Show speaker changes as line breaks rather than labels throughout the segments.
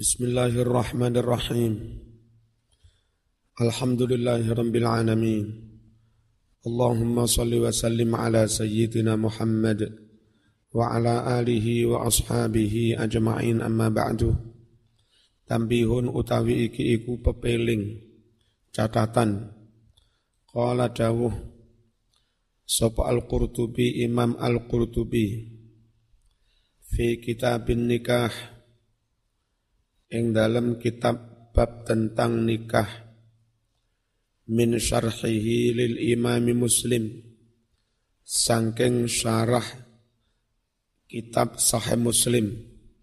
Bismillahirrahmanirrahim. Alhamdulillahirabbil alamin. Allahumma shalli wa sallim ala sayyidina Muhammad wa ala alihi wa ashabihi ajma'in, amma ba'du. Tambihun utawi iki iku pepeling catatan. Qala dawuh sapa Al-Qurtubi, Imam Al-Qurtubi fi kitabin nikah, ing dalam kitab bab tentang nikah, min syarhihi lil imami Muslim, sangking syarah kitab Sahih Muslim.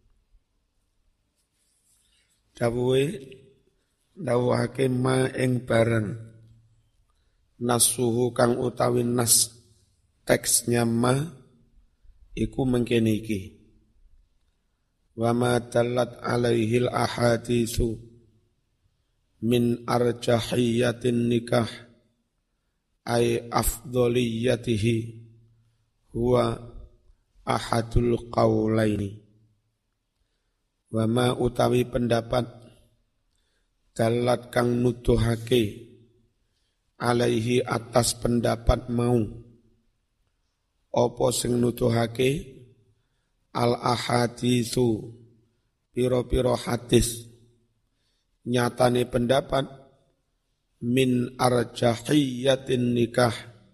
Dawuhake ma ing barang, nasuhu kang utawi nas teksnya ma iku mengkene iki. Wa ma dallat alaihil ahaditsu min arjahiyatin nikah ay afdoliyatihi huwa ahadul qaulaini. Wa ma utawi pendapat dallat kang nuduhake alaihi atas pendapat mau, apa sing nuduhake al ahaditsu piro-piro hadis, nyatane pendapat min arjahiyatin nikah,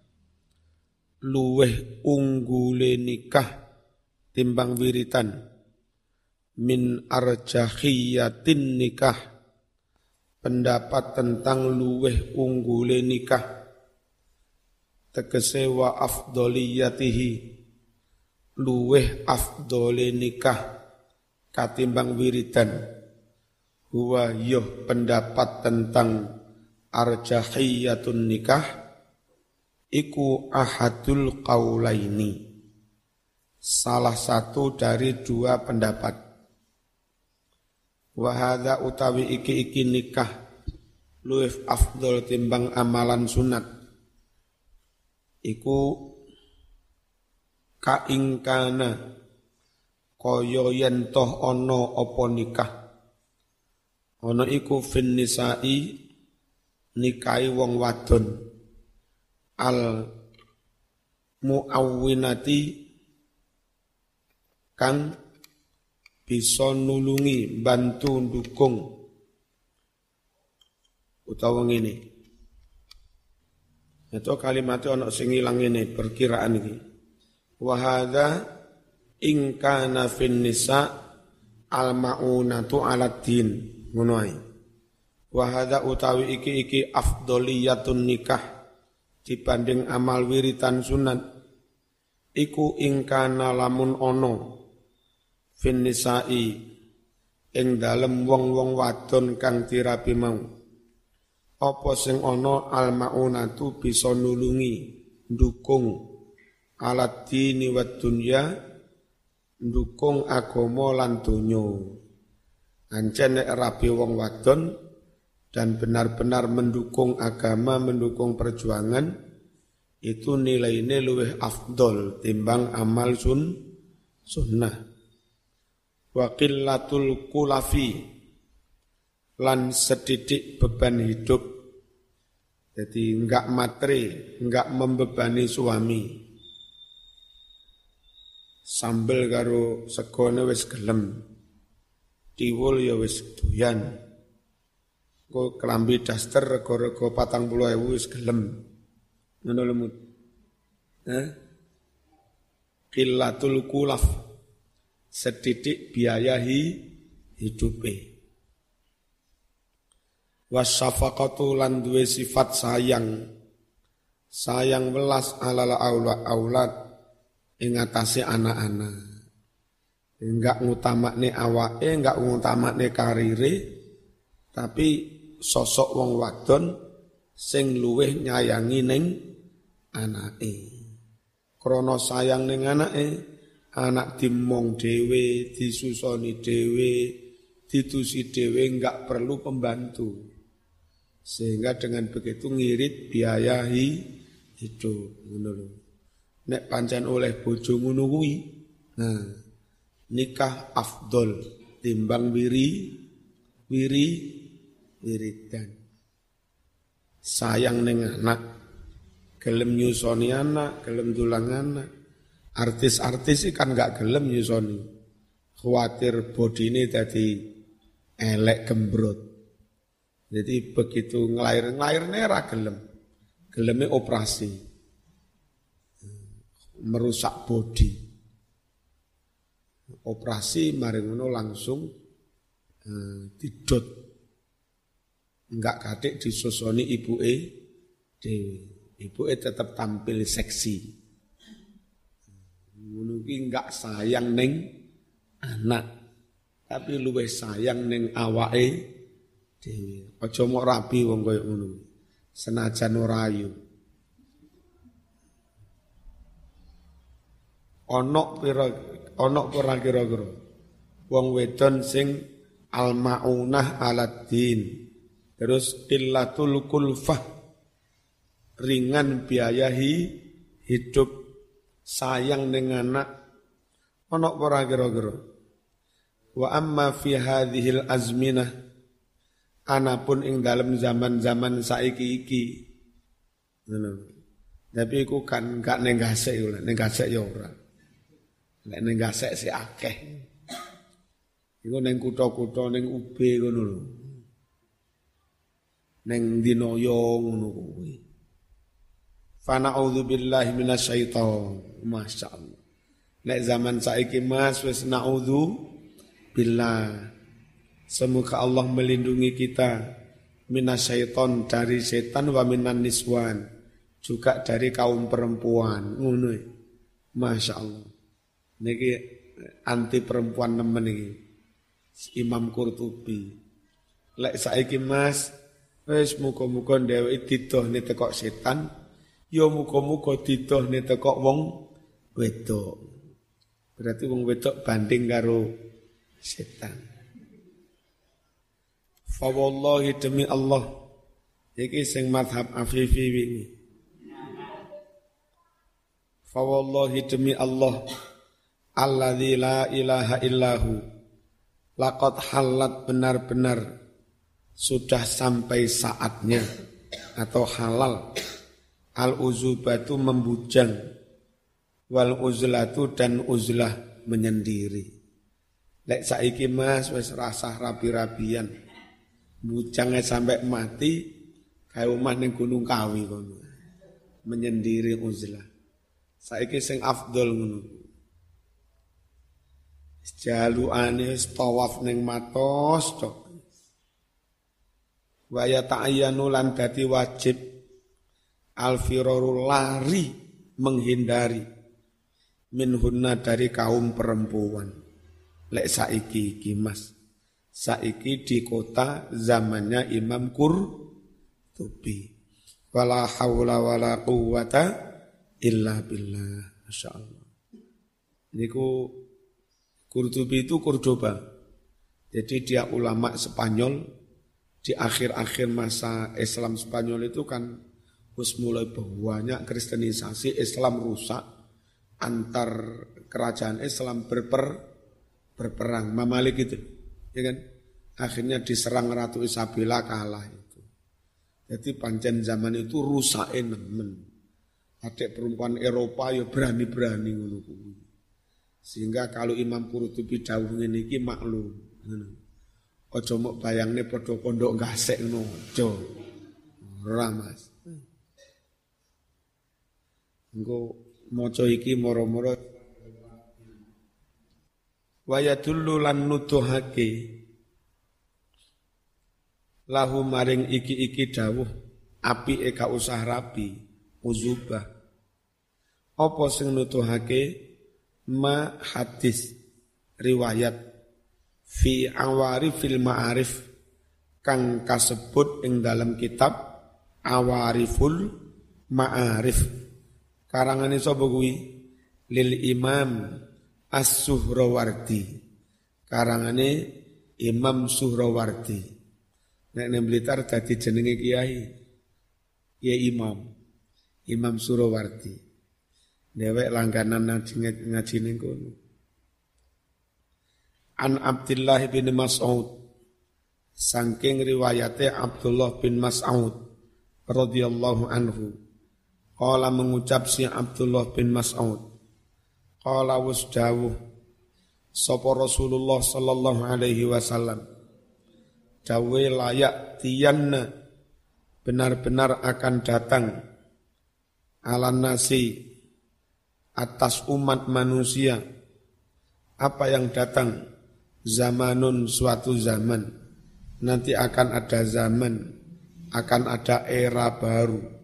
luweh unggule nikah timbang wiritan. Min arjahiyatin nikah, pendapat tentang luweh unggule nikah, tegese wa afdoliyatihi, luweh afdole nikah katimbang wiridan. Huwa yuh pendapat tentang arjahiyatun nikah iku ahadul qaulaini, salah satu dari dua pendapat. Wa hadza utawi iki nikah luweh afdol timbang amalan sunat iku kaingkana kaya yen toh ana apa nikah, ana iku fin nisa'i nikahi wong wadon, al muawwinati kang bisa nulungi bantu ndukung, utawa ngene itu kalimatnya ana sing ilang ngene perkiraan iki. Wa hadza in kana fin nisa al maunatu ala din, ngono ae. Wa hadza utawi iki afdoliyatun nikah dibanding amal wiritan sunat iku in kana lamun ono fin nisai ing dalem wong-wong wadon kang dirabi mau, apa sing ono al maunatu bisa nulungi ndukung alat dini wa dunya, ndukung agama lan donya. Ancen nek rabi wong wadon dan benar-benar mendukung agama, mendukung perjuangan, itu nilainya luwih afdol timbang amal sunnah. Wa qillatul kulafi, lan sedidik beban hidup, jadi enggak matre, enggak membebani suami. Sambel karo segone wis gelem, tiwul ya wis doyan, kok kelambi daster rego-rego 40.000 wis gelem, ngono lemut. Qillatul kulaf, sedidik biaya hidupe. Wasyafaqatu lan duwe sifat sayang welas alal aulad ing atase anak-anak. Enggak ngutamakne awake, enggak ngutamakne karire, tapi sosok wong wadon sing luweh nyayangi ning anake. Krana sayang ning anake, anak dimong dhewe, disusoni dhewe, ditusi dhewe, enggak perlu pembantu. Sehingga dengan begitu ngirit biaya hidup, ngono lho. Nek pancen oleh bojo ngono kuwi, nah nikah afdol timbang wiridan. Sayang ning anak, gelem nyusoni anak, gelem dulang anak. Artis-artis kan gak gelem nyusoni. Khawatir bodine dadi elek gembrot. Jadi begitu ngelairne ra gelem. Geleme operasi. Merusak bodi. Operasi mari ngono langsung didot. Enggak katik disusoni ibuke dhewe. Ibuke tetap tampil seksi. Ngono ki enggak sayang ning anak, tapi luwih sayang ning awake dhewe. Aja mok rabi wong kaya ngono. Senajan ora ayu. Ana kira-kira wong wedon sing al-maunah aladdin. Terus qillatul kulfah, ringan biaya hidup, sayang dengan anak. Ana ora kira-kira. Wa amma fi hadhil azminah, anapun ing dalam zaman-zaman saiki iki. Tapi iku kan gak ning gasek yo, ning gasek yo ora. Nek ning gasek sik akeh. Iku ning kutha-kutha ning UB ngono lho. Ning dinoyo ngono kuwi. Fa na'udzubillahi minasyaiton. Masyaallah. Nek zaman saiki Mas wis na'udzubillah. Semoga Allah melindungi kita minasyaiton, dari setan, wa minan niswan, juga dari kaum perempuan. Ngono. Masyaallah. Niki anti perempuan nemen iki. Imam Qurtubi. Lek saiki Mas wis muga-muga dheweke didohne teko setan, ya muga-muga didohne teko wong wedok. Berarti wong wedok banding karo setan. Fa wallahi demi Allah, iki sing mazhab Afifi wingi. Fa wallahi demi Allah, alladzi la ilaha illahu, laqad halat, benar-benar sudah sampai saatnya atau halal, al-uzubatu membujang, wal uzlatu dan uzlah menyendiri. Lek saiki Mas wis rasah rabi-rabian, bujangnya sampai mati, kaya omah ning Gunung Kawi kono. Menyendiri uzlah. Saiki sing afdol ngono. Jalukane tawaf ning matos tok. Wa yata'ayyanu lan dadi wajib al-firaru, lari, menghindari minhunna, dari kaum perempuan. Lek saiki iki Mas, saiki di kota zamannya Imam Qurtubi. Wala haula wala quwwata illa billah. Masyaallah. Niku Qurtubi itu Cordoba. Jadi dia ulama Spanyol. Di akhir-akhir masa Islam Spanyol itu kan wis mulai banyak kristenisasi, Islam rusak, antar kerajaan Islam berperang, Mamalik itu, ya kan? Akhirnya diserang Ratu Isabella, kalah itu. Jadi pancen zaman itu rusak nemen. Adik perempuan Eropa ya berani-berani ngono kuwi. Sehingga kalau Imam Qurtubi dawuh ngene iki maklum. Aja mok bayangne padha pondok gasek ngono, aja. Ora Mas. Engko maca iki moro-moro wa yadullu lan nuduhake lahu maring iki dawuh apike gak usah rapi, uzubah. Apa sing nuduhake ma hadis riwayat fi awarifil ma'arif kang kasebut ing dalam kitab Awariful Ma'arif, karangane sapa kuwi? Lil Imam As-Suhrawardi, karangane Imam Suhrawardi. Nek nang Blitar dadi jenenge kiai ya Imam Suhrawardi. Dhewek langganan ngaji ning kono. An Abdullah bin Mas'ud saking riwayate Abdullah bin Mas'ud radhiyallahu anhu. Qala mengucap si Abdullah bin Mas'ud, qala wasdawuh sapa Rasulullah sallallahu alaihi wasallam, dawe layak tiyanna, benar-benar akan datang ala nasi, atas umat manusia, apa yang datang, zamanun, suatu zaman, nanti akan ada zaman, akan ada era baru,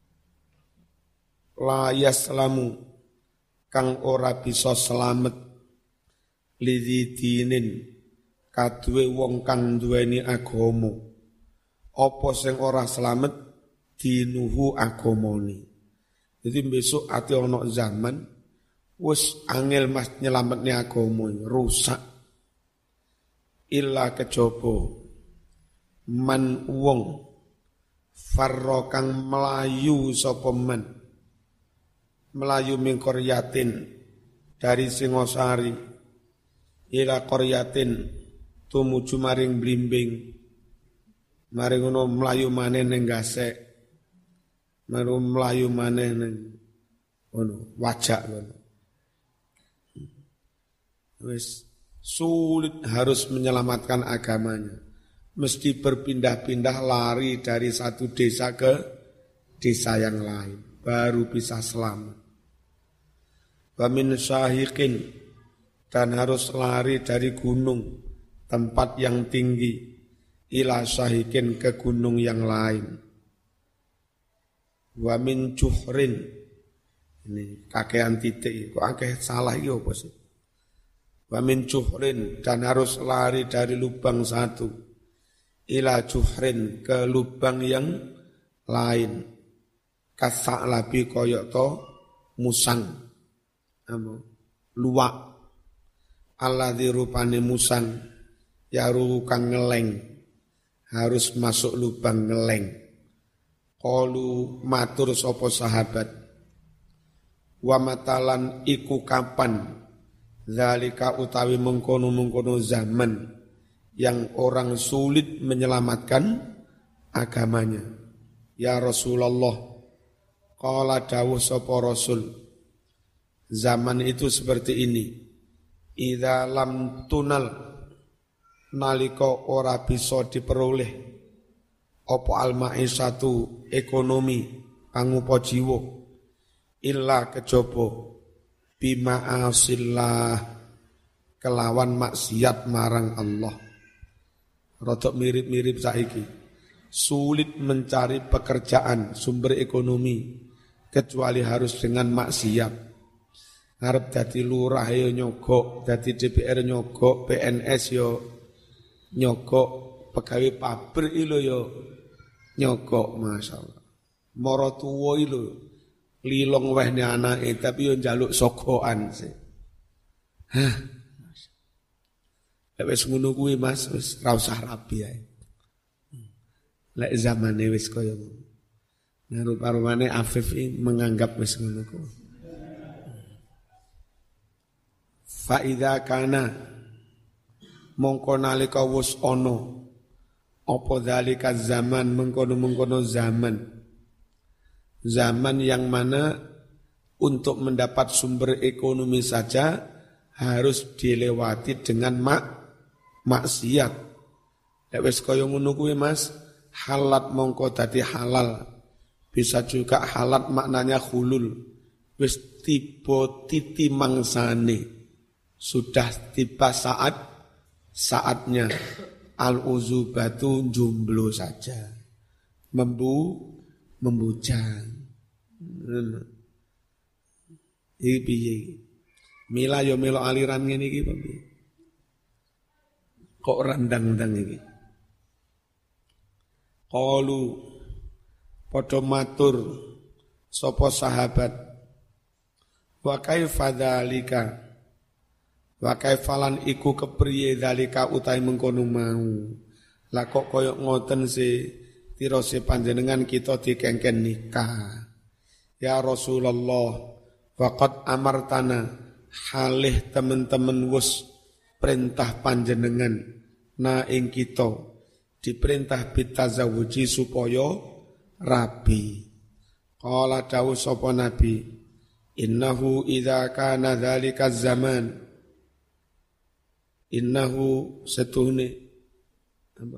la yaslamu, kang ora bisa selamet, lidhi dinin, kaduwe wong kang duweni agama, apa sing ora selamet, dinuhu agamane. Jadi besok ati ana zaman wis angel mas nyelametne agama, rusak. Illa kejaba man wong farra kang melayu sapa man, melayu min qaryatin, dari Singosari, ila qaryatin tumuju maring blimbing, maring ngono melayu maneh ning Gasek, maring melayu maneh ning ngono Wajak ngono. Wis sulit harus menyelamatkan agamanya, mesti berpindah-pindah lari dari satu desa ke desa yang lain baru bisa selamat. Wa min syahiqin, dan harus lari dari gunung, tempat yang tinggi, ila syahiqin, ke gunung yang lain. Wa min juhrin, ini kakean titik, kok akeh salah iki apa sih? Wa min juhrin, dan harus lari dari lubang satu, ila juhrin, ke lubang yang lain. Kasak labi koyok to musang, luwak, alladzi rupane musang, yaru kang ngeleng, harus masuk lubang ngeleng. Qalu matur sapa sahabat, wa matalan iku kapan, zalika utawi mengkono-mengkono zaman yang orang sulit menyelamatkan agamanya. Ya Rasulullah, qala dawuh sapa Rasul, zaman itu seperti ini. Idza lam tunal, nalika ora bisa diperoleh apa al-ma'isatu, ekonomi pangupa jiwa, illa kejaba bima'asillah, kelawan maksiat marang Allah. Rodok mirip-mirip saiki, sulit mencari pekerjaan, sumber ekonomi, kecuali harus dengan maksiat. Arep dadi lurah yo nyogok, dadi DPR nyogok, PNS yo nyogok, pegawai pabrik lho yo nyogok, masyaallah. Mara tuwa lho lilong wehne anake tapi yo njaluk sogokan sih. Hah. Lek wis ngono kuwi Mas, wis ra usah rabi ae. Lek zamane wis kaya ngono. Nah rupa-rupane Afif menganggap wis ngono kuwi. Fa idza kana, mongko nalika wis ana apa zalika zaman, mengkono-mengkono zaman yang mana untuk mendapat sumber ekonomi saja harus dilewati dengan maksiat. Lek wis kaya ngono kuwi Mas, halat mongko dadi halal. Bisa juga halat maknanya hulul. Wis tiba titi mangsane. Sudah tiba saatnya al-uzubatu jomblo saja. Membujang. Iki piye? Mila yo melo aliran ngene iki piye? Kok randang-ndang iki? Qalu padha matur sapa sahabat, wa kaifa dzalika, wa kaifalan iku kepriye dzalika utahe mengkono mau. Lah kok koyo ngoten sih tirose panjenengan kita dikengken nikah. Ya Rasulullah, faqad amartana, halih teman-teman wus perintah panjenengan na ing kita, diperintah bitazawuji supaya rabi. Qala dawu sapa Nabi, innahu idza kana dzalika zaman, innahu setuhne apa?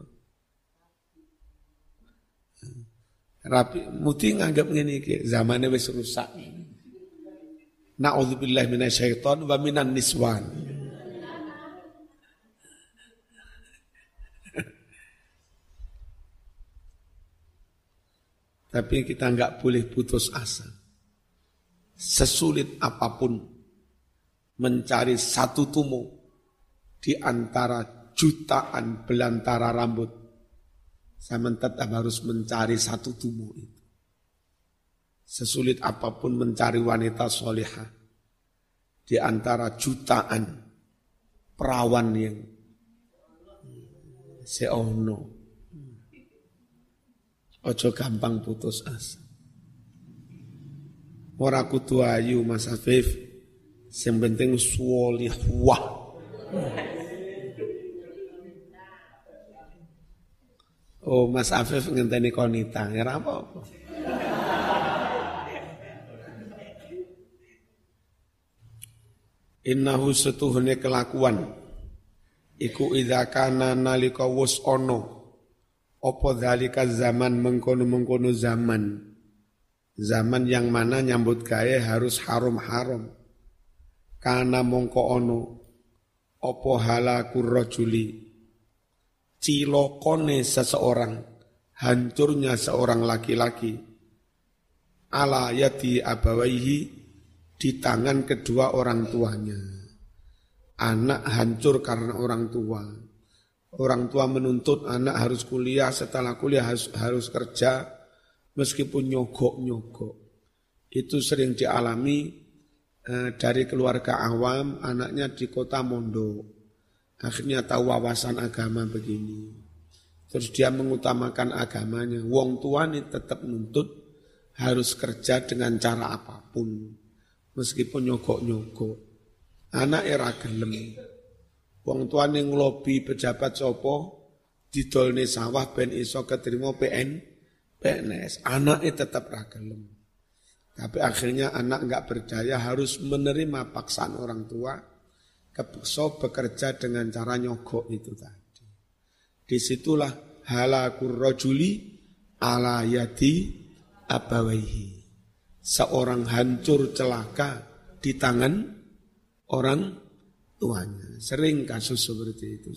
Rabi muti nganggep ngene iki, zamane wis rusak. Na'udzubillahi minasyaiton wa minan niswan. Tapi kita enggak boleh putus asa. Sesulit apapun mencari satu tumor di antara jutaan belantara rambut, saya tetap harus mencari satu tumor itu. Sesulit apapun mencari wanita solehah di antara jutaan perawan yang seono, ojo gampang putus asa. Ora kudu ayu Mas Afif, sing penting sholihah. Oh Mas Afif ngenteni konita, ya apa-apa. Innahu setuhune kelakuan iku idza kana nalika wus ana apa zalika zaman mengkono-mengkono zaman yang mana nyambut gawe harus haram-haram kana mongko ana apa halakur rajuli cilokone seseorang, hancurnya seorang laki-laki ala yati abawaihi di tangan kedua orang tuanya. Anak hancur karena orang tua. Orang tua menuntut anak harus kuliah, setelah kuliah harus kerja, meskipun nyogok-nyogok. Itu sering dialami dari keluarga awam, anaknya di kota mondok. Akhirnya tahu wawasan agama begini. Terus dia mengutamakan agamanya. Wong tua ini tetap nuntut harus kerja dengan cara apapun. Meskipun nyogok-nyogok. Anak era gelem. Wong tuane nglobi pejabat sapa didolne sawah ben iso keterima PNS. Anaknya tetap ra gelem. Tapi akhirnya anak enggak berdaya harus menerima paksaan orang tua. Kepeksa bekerja dengan cara nyogok itu tadi. Disitulah halakur rajuli ala yadi abawaihi. Seorang hancur celaka di tangan orang tuanya. Sering kasus seperti itu.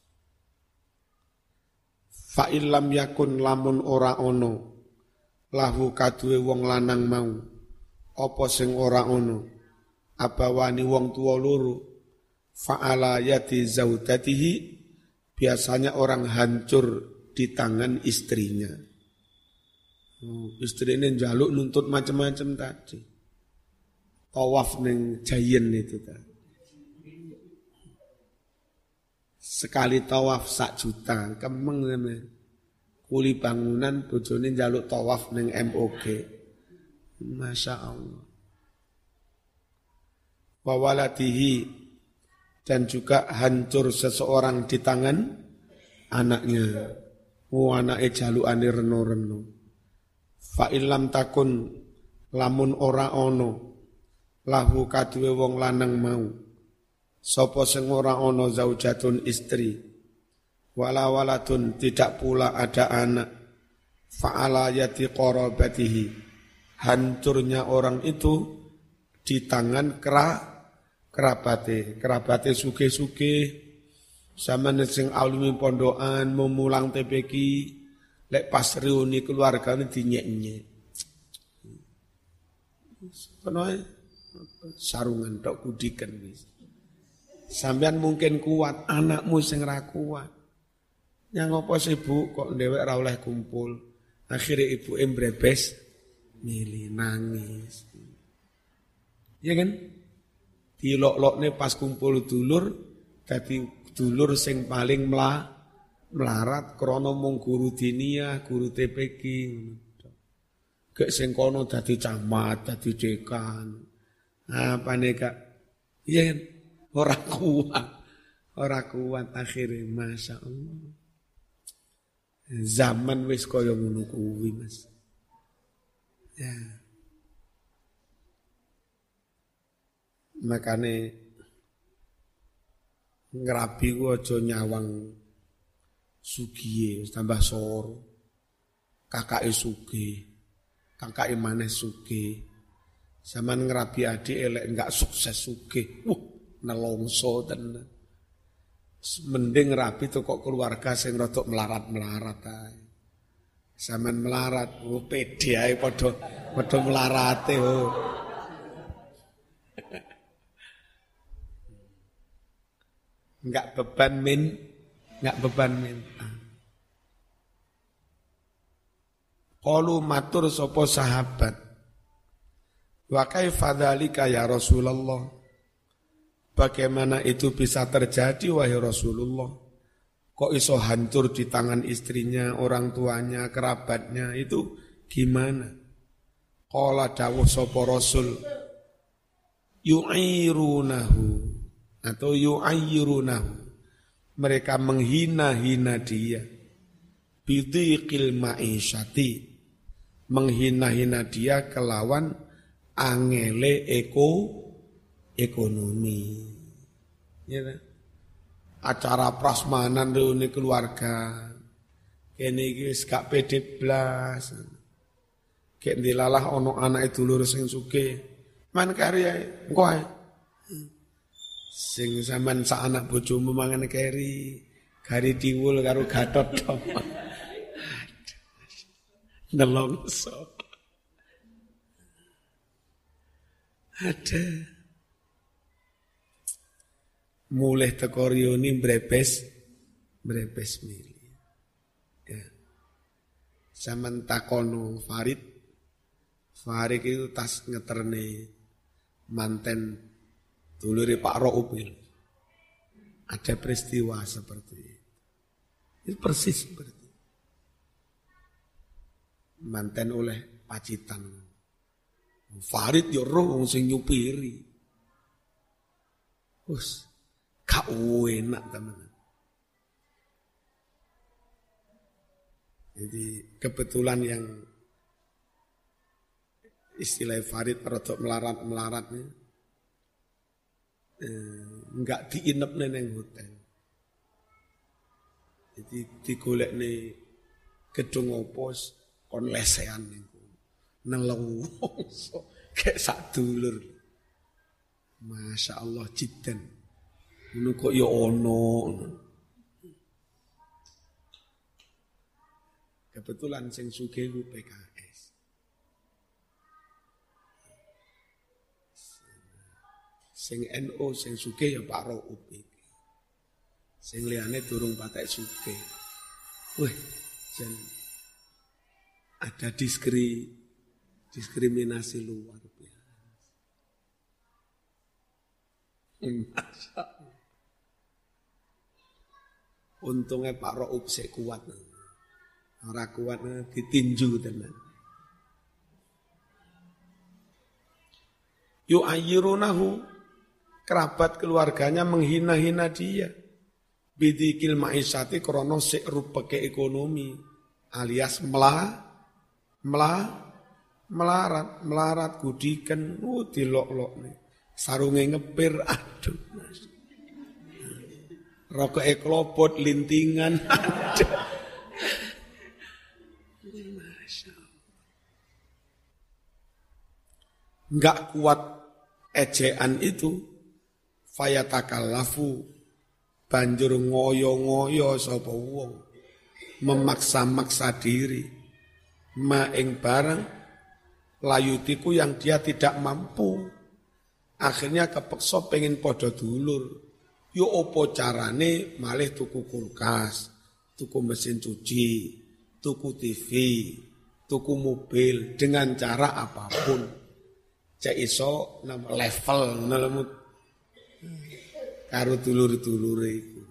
Fa illam yakun lamun ora ono lahu kaduwe wong lanang mau apa sing ora ono abawani wong tuwa loro fa ala yati zaudatihi biasanya orang hancur di tangan istrinya. Istri ini njaluk nuntut macam-macam tadi. Tawaf ning Jayen itu tadi. Sekali tawaf 1 juta, kemeng sampean. Kuli bangunan bojone njaluk tawaf ning MOG. Masya Allah. Wa waladihi dan juga hancur seseorang di tangan anaknya. Anake jalukane reno-reno. Fa illam takun lamun ora ono lahu kaduwe wong lanang mau sapa sing ora ono zaujatun istri wala waladun tidak pula ada anak fa ala yati qarabatihi hancurnya orang itu di tangan kerabate sugih-sugih sampeyan sing alumni pondokan memulang TPQ lek pas reuni keluargane dinyek-nyek. Konoe sarungan tok kudiken wis. Sampean mungkin kuat, anakmu sing ra kuat. Yang apa sih Bu kok dhewek ra oleh kumpul. Akhire ibuke mbrebes milih nangis. Ya kan? Dilok-lokne pas kumpul dulur dadi dulur sing paling melarat krana mung guru diniyah, guru TPQ. Gek sing kono dadi camat, dadi dekan. Apane Kak? Iya kan? Ora kuat akhirnya, Masya Allah. Zaman wis kaya ngono kuwi, Mas. Ya. Makane ngrabi ku aja nyawang sugihe tambah soro. Kakake sugih, kakake maneh sugih. Zaman ngrabi adik elek enggak sukses sugih. Nelongso tenan. Mending rabi tuh kok keluarga sing rodok melarat-melarat ae. Zaman melarat, pede ae padha melarate. Enggak beban min. Qalu matur sapa sahabat. Wa kaifa dzalika ya Rasulullah? Bagaimana itu bisa terjadi wahai Rasulullah? Kok iso hancur di tangan istrinya, orang tuanya, kerabatnya, itu gimana? Qala dawuh sapa Rasul yu'irunahu atau yu'ayyirunahu. Mereka menghina-hina dia. Bidhiqil ma'isyati. Menghina-hina dia kelawan angele ekonomi. Ya kan? Acara prasmanan reuni keluarga. Kene iki wis gak pede blas. Kek ndilalah ana anake dulur sing sugih. Man kari ae, engko ae. Sing sampean sak anak bojomu mangan keri, gari diwul karo Gatot tok. Nelongso. Ada. Mulai teko rioni brebes mili. Ya. Zaman takono Farid itu tas ngeterne manten dulure Pak Roupil. Ada peristiwa seperti itu. Itu persis seperti itu. Manten oleh pacitan. Farid yo roh wong sing nyupiri. Wes gak enak teman. Jadi kebetulan yang istilah Farid rodok melarat-melaratnya enggak diinepne nang hotel. Jadi digolekne gedung opos kon lesehan niku. Nelongso kayak sak dulur. Masya Allah jiddan. Ngono kok ya ono. Kebetulan sing sugih ku PKS. Sing NU sing sugih ya Pak Rauf iki. Sing liyane durung patek sugih. Wih, jan ada diskriminasi luar biasa. Masya Allah. Untungnya Pak Rauf sik kuat. Ora kuat ditinju tenan. Yu'ayyirunahu, kerabat keluarganya menghina-hina dia. Bidikil ma'isyati krono sik rupeke ekonomi alias melarat gudikan dilok-lok nih. Sarunge ngepir aduh. Rokoke klopot lintingan aduh. Enggak kuat ejaan itu, fayatakallafu banjur ngoyo-ngoyo sapa wong, memaksa-maksa diri, maing barang layutiku yang dia tidak mampu. Akhirnya kepeksa pengen podo dulur. Yo opo carane malih tuku kulkas, tuku mesin cuci, tuku TV, tuku mobil dengan cara apapun. Cek iso level ngelemu karo dulur-dulure iku.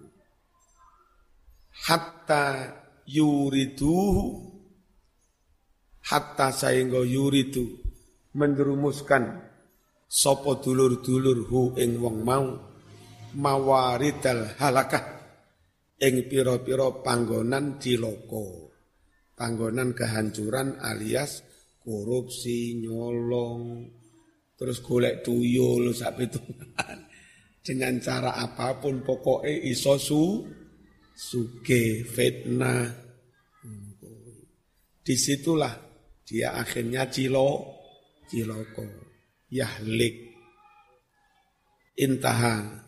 Hatta saengga yuridu menjerumuskan sapa dulur-dulur hu ing wong mau mawaridal halakah ing pira-pira panggonan cilaka. panggonan kehancuran alias korupsi, nyolong, terus golek tuyul sak pitungan. Dengan cara apapun pokoknya iso suge, fitnah. Disitulah dia akhirnya ciloko, yahlik, intaha.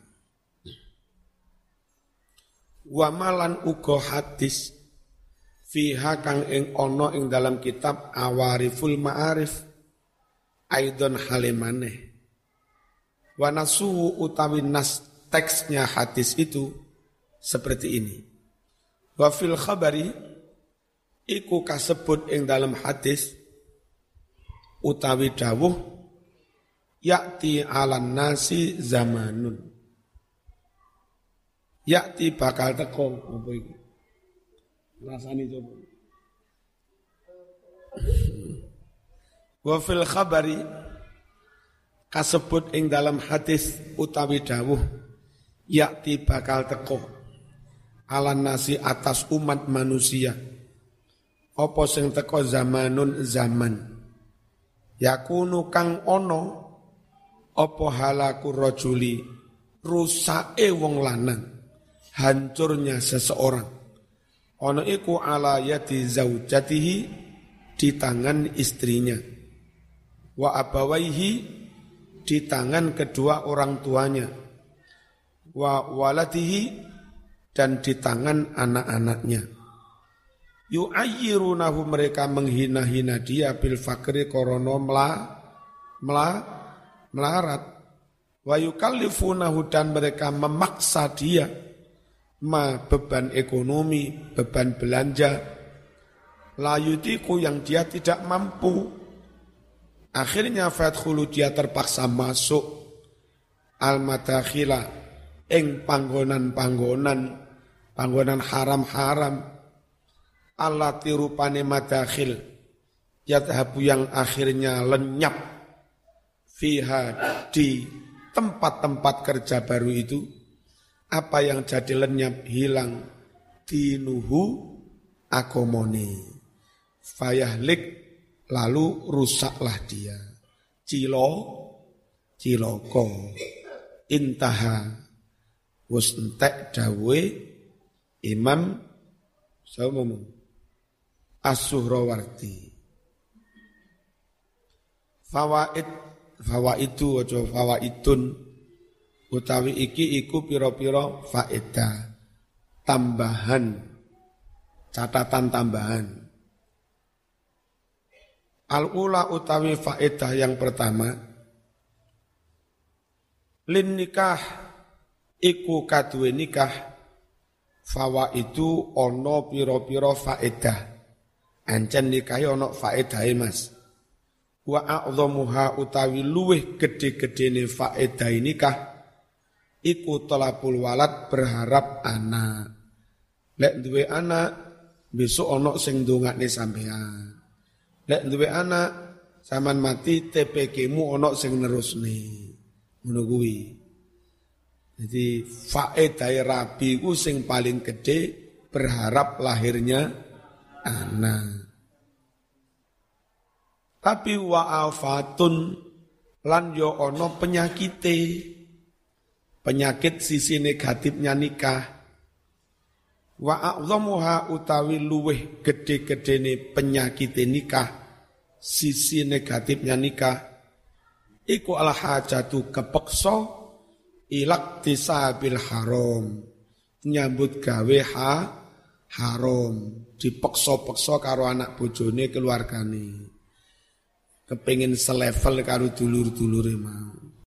Wa malan uga hadis fiha kang ing ana ing dalam kitab Awariful Ma'arif aidon halimane. Wa nasu utawi nas teksnya hadis itu seperti ini. Wa fil khabari iku kasebut ing dalam hadis utawi dawuh yakti alan nasi zamanun. Yakti bakal teko apa iki? Rasane coba. Wa fil khabari kasebut ing dalam hadis utawi dawuh yakti bakal teko alan nasi atas umat manusia apa sing teko zamanun zaman yakunu kang ono apa halaku rajuli rusake wong lanang hancurnya seseorang ono iku ala yati zaujatihi di tangan istrinya wa abawaihi di tangan kedua orang tuanya wa waladihi dan di tangan anak-anaknya yu'ayyirunahu mereka menghina-hina dia bil fakri korono melarat wa yukallifunahu dan mereka memaksa dia beban ekonomi, beban belanja la yutiku yang dia tidak mampu. Akhirnya fadkhulu dia terpaksa masuk al-madakhila ing panggonan haram-haram allati rupane madakhil yadhabu yang akhirnya lenyap fiha di tempat-tempat kerja baru itu apa yang jadi lenyap hilang dinuhu akomoni fayahlik lalu rusaklah dia. Ciloko. Intaha. Wus entek dawe Imam As-Suhrawardi. Fawaidu wajo fawaidun utawi iki iku pira-pira faedah. Tambahan. Catatan tambahan. Al-ula utawi faedah yang pertama lin nikah iku kaduwe nikah fawaidu ana pira-pira faedah ancen nikah ana faedahe Mas wa a'dhamuha utawi luweh gede-gedene faedah nikah iku talabul walad berharap anak lek duwe anak besok ana sing ndongakne sampean. Lek duwe anak, sampean mati TPK-mu ana sing nerusne. Ngono kuwi. Jadi faedah rabi ku sing paling gede berharap lahirnya anak. Tapi wa'afatun lan yo ana penyakite. Penyakit sisi negatifnya nikah. Wa a'dhamuha utawi luweh gede-gedene penyakit nikah sisi negatifnya nikah iku al hajatu kepeksa ilak tisabil haram nyambut gawe haram dipeksa-peksa karo anak bojone keluargane kepengin selevel karo dulur-dulure mau